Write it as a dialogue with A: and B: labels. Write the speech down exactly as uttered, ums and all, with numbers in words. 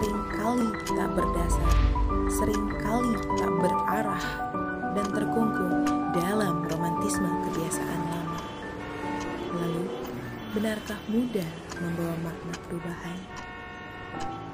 A: seringkali tak berdasar, seringkali tak berarah, dan terkungkung dalam romantisme kebiasaan lama. Lalu, benarkah mudah membawa makna perubahan?